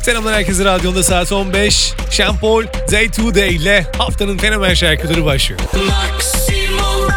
Selamlar herkese, radyonda saat 15. Sean Paul, Day to Day ile haftanın fenomen şarkıları başlıyor. Maximum.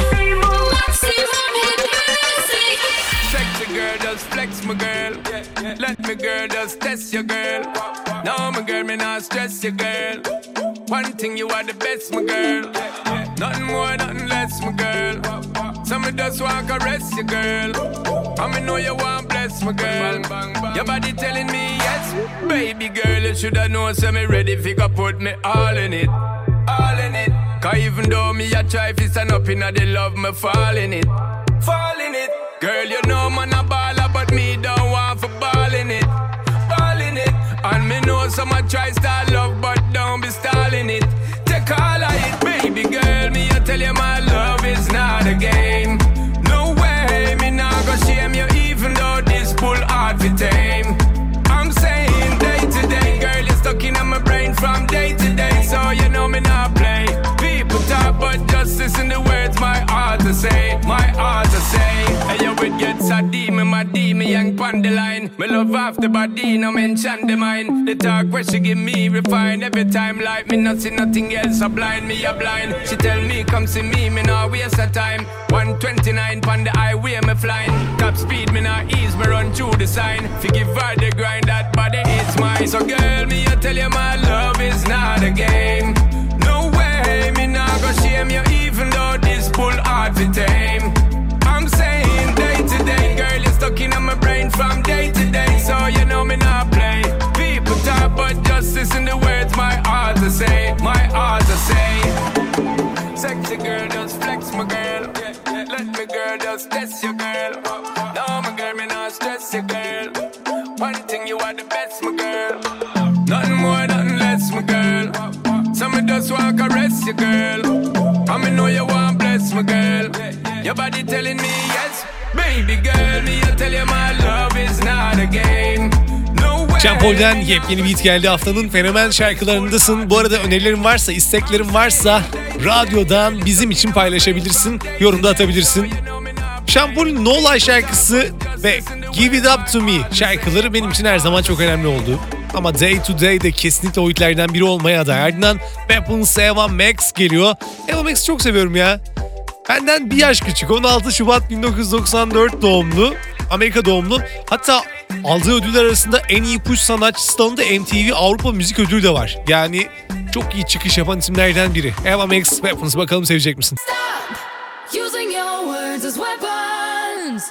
Sexy girl, just flex my girl. Let me girl, just test your girl. No, my girl, me not stress your girl. One thing, you are the best, my girl. Nothing more, nothing less, my girl. So me just want to caress your girl. And me know you want bless, my girl. Your body telling me yes. Baby girl, you shoulda known, so me ready if you could put me all in it. All in it. Cause even though me a try fi stand up inna the love, me fall in it. Fall in it. Girl, you know man a baller, but me don't want for ball in it. Ball in it. And me know someone try start love, but don't be stalling it. Take all of it, baby girl. Me I tell you my love is not a game. No way, me not go shame you, even though this bull hard to tame. I'm saying day to day, girl, you're stuck in my brain from day to day, so you know me not play. People talk, but just listen the words my heart to say, my heart to say. Hey, yo, it gets a demon, my demon, young pon the line. Me love off the body, no mention the mind. The talk where she give me refine. Every time like me not see nothing else, a blind, me a blind. She tell me come see me not waste her time. 129 pon the highway, me flying. Top speed, me not ease, me run through the sign. Forgive her the grind, that body is mine. So girl, me I tell you my love is not a game. No way, me not go shame you, even though this bull hard to tame. I'm saying day to day, girl, you're stuck in my brain from day to day, so you know me not play. People talk, but just listen the words my heart to say, my heart to say. Sexy girl, just flex my girl. Let me girl, just test your girl. No, my girl, me not stress your girl. One thing, you are the best, my girl. Nothing more, nothing less, my girl. So me just want to caress your girl. And me know you want bless my girl. Your body telling me yes. Baby girl, me I tell you my love is not a game. No way. Sean Paul'den yepyeni beat geldi, haftanın fenomen şarkılarındasın. Bu arada önerilerin varsa, isteklerin varsa radyodan bizim için paylaşabilirsin, yorumda atabilirsin. Sean Paul'un No Lie şarkısı ve Give It Up To Me şarkıları benim için her zaman çok önemli oldu. Ama Day to Day de kesinlikle o hitlerden biri olmaya aday. Ardından Weapons Eva Max geliyor. Eva Max'i çok seviyorum ya. Benden bir yaş küçük. 16 Şubat 1994 doğumlu. Amerika doğumlu. Hatta aldığı ödüller arasında en iyi push sanatçısı dalında MTV Avrupa Müzik Ödülü de var. Yani çok iyi çıkış yapan isimlerden biri. Eva Max, Weapons, bakalım sevecek misin? Stop using your words as weapons.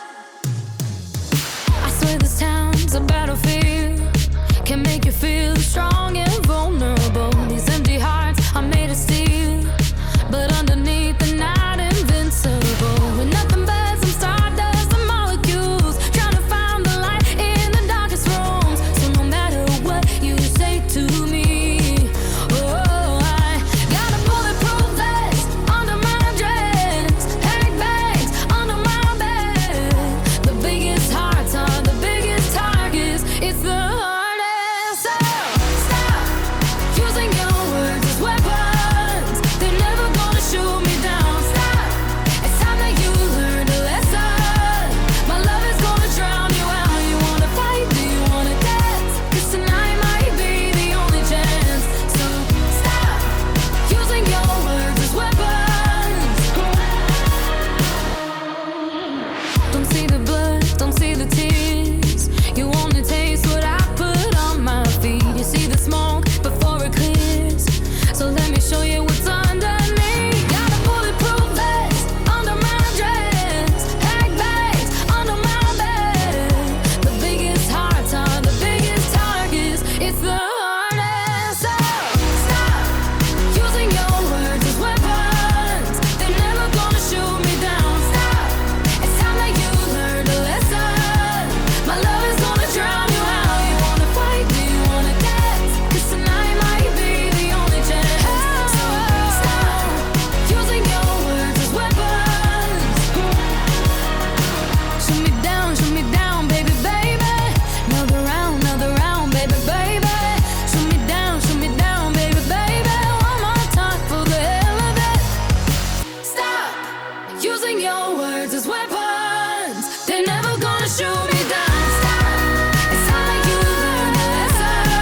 I swear this town's a battlefield. Can make you feel strong and vulnerable. These empty hearts are made of steel, but underneath they're not invincible. With nothing but some stardust and molecules, trying to find the light in the darkest rooms. So no matter what you say to me, oh, I got a bulletproof vest under my dress, pack bags under my bed. The biggest hearts are the biggest targets. It's the hardest. So stop using your words as weapons. They're never gonna shoot me down. Stop. It's time that you learned a lesson. My love is gonna drown you out. You wanna fight? Do you wanna dance? 'Cause tonight might be the only chance. So stop using your words as weapons. Don't see the blood, don't see the tears. You only taste what I put on my feet. You see the smoke before it clears. So let me show you what's underneath. Got a bulletproof vest under my dress, pack bags under my bed. The biggest hearts are the biggest targets. It's the hardest. So stop using your words as weapons. They're never gonna shoot me down. Stop. It's time that you learned a lesson. My love is gonna drown you out. You wanna fight? Do you wanna dance? 'Cause tonight might be the only chance. So stop using your words as weapons. Shoot me down, baby, baby. Another round, baby, baby. Shoot me down, baby, baby. One more time for the hell of it. Stop using your words as weapons. They're never gonna shoot me down. Stop. It's time that you learned a lesson.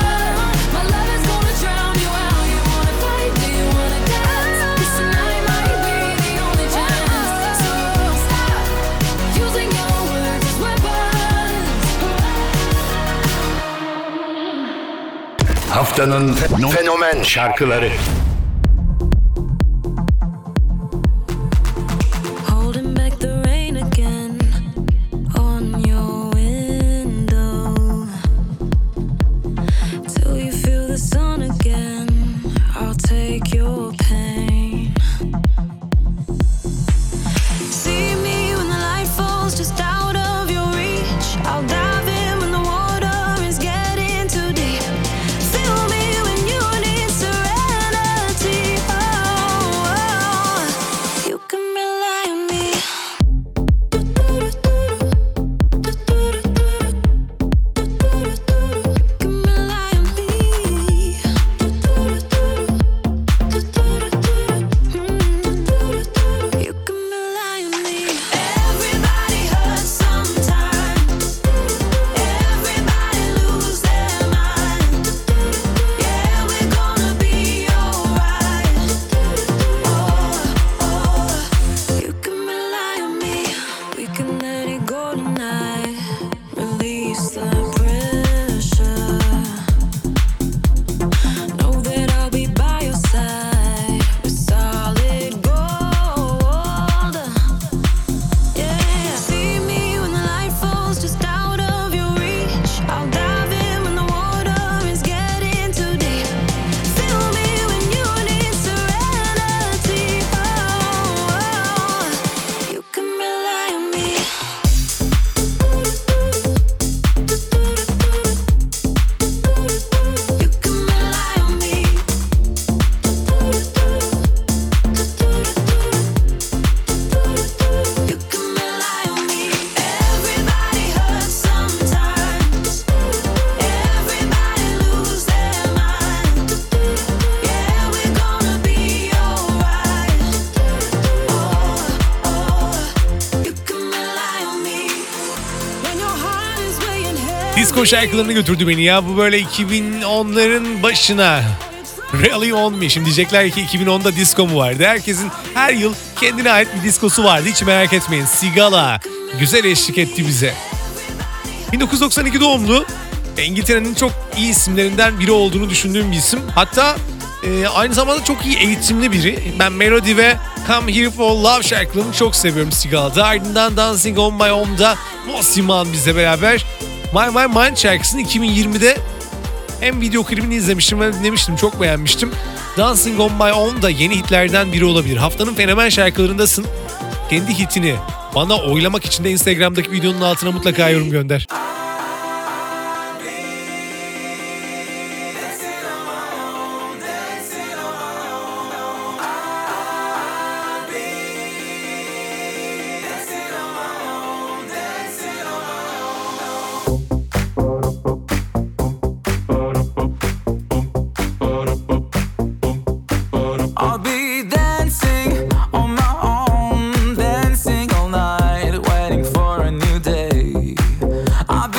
Haftanın fenomen şarkıları. Holding back the rain again on your window till you feel the sun again. I'll take your pain. See me when the light falls just out of your reach. I'll dive in when the water is getting too deep. Feel me when you need serenity. Oh, oh. You can rely on me. You can rely on me. Everybody hurts sometimes. Everybody lose their mind. Yeah, we're gonna be alright. Oh, oh. You can rely on me. We can let it go tonight. Release the pressure. Know that I'll be by your side with solid gold. Yeah, see me when the light falls just out of your reach. I'll dive in when the water is getting too deep. Feel me when you need serenity. Oh, oh. You can rely on me. You can rely on me. You can rely on me. Everybody hurts sometimes. Everybody lose their mind. Yeah, we're gonna be alright. Oh, oh. You can rely on me. When your heart is weighing heavy. Disco şarkılarına götürdü beni ya. Bu böyle 2010'ların başına. Really on me. Şimdi diyecekler ki 2010'da disco mu vardı? Herkesin her yıl kendine ait bir diskosu vardı. Hiç merak etmeyin. Sigala güzel eşlik etti bize. 1992 doğumlu. İngiltere'nin çok iyi isimlerinden biri olduğunu düşündüğüm bir isim. Hatta aynı zamanda çok iyi eğitimli biri. Ben Melody ve Come Here For Love şarkılarını çok seviyorum Sigala'da. Ardından Dancing On My Own'da Mosiman bizle beraber My Mind şarkısını 2020'de hem video klibini izlemiştim hem dinlemiştim. Çok beğenmiştim. Dancing On My Own da yeni hitlerden biri olabilir. Haftanın fenomen şarkılarındasın. Kendi hitini bana oylamak için de Instagram'daki videonun altına mutlaka yorum gönder. I'll be dancing on my own, dancing all night, waiting for a new day. I'll be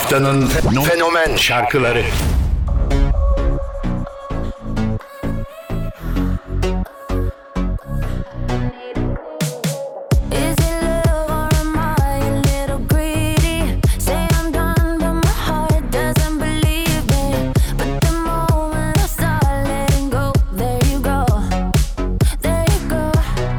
Haftanın fenomen şarkıları. Is it love or am I a little greedy? Say I'm done, but my heart doesn't believe me. But the moment I start letting go, there you go, there you go.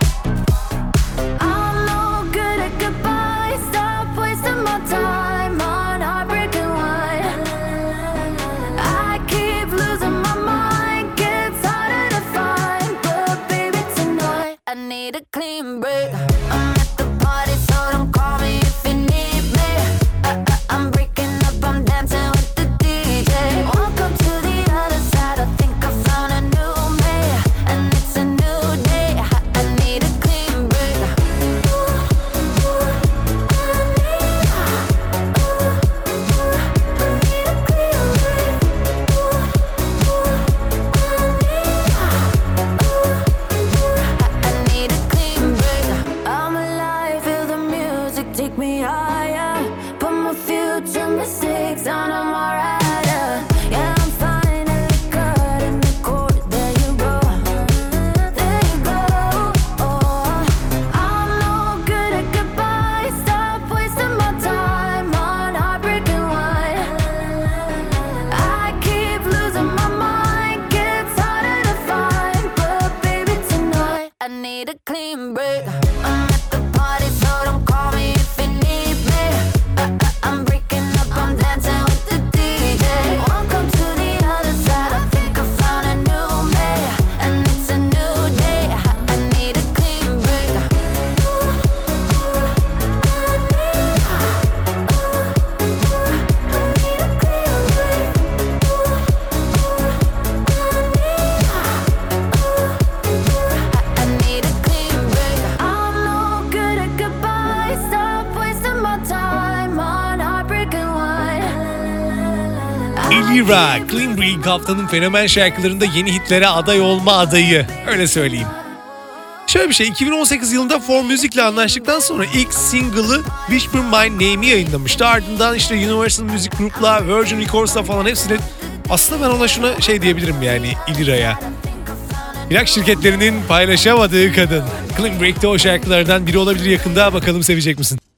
I'm no good at goodbye. Stop wasting my time on heartbreaking wine. I keep losing my mind, gets harder to find. But baby, tonight I need a clean break. I'm at the party, so don't call me if you need me. I'm breaking up, I'm dancing with the DJ. Welcome to the other side, I think I found a new me. And it's a new day, I need a clean break. I need a clean break. I'm alive, feel the music take me higher. Put my future mistakes on a rider. Yeah, I'm finally cutting the cord. There you go, there you go. Oh, I'm no good at goodbye. Stop wasting my time on heartbreaking wine. I keep losing my mind, gets harder to find. But baby, tonight I need a clean break. I'm at the party, so don't call me if you need me. I'm breaking up, I'm dancing with the DJ. Welcome to the other side, I think I found a new me. And it's a new day, I need a clean break. I need a clean break. I'm no good at goodbye. Stop wasting my time on heartbreaking wine. Elira, Clean Break haftanın fenomen şarkılarında yeni hitlere aday olma adayı. Öyle söyleyeyim. Şöyle bir şey, 2018 yılında For Music'le anlaştıktan sonra ilk single'ı Whisper My Name'i yayınlamıştı. Ardından işte Universal Music Group'la, Virgin Records'la falan hepsine... Aslında ben ona şuna şey diyebilirim yani Elira'ya. İlaç şirketlerinin paylaşamadığı kadın. Clean Break'te o şarkılardan biri olabilir yakında. Bakalım sevecek misin?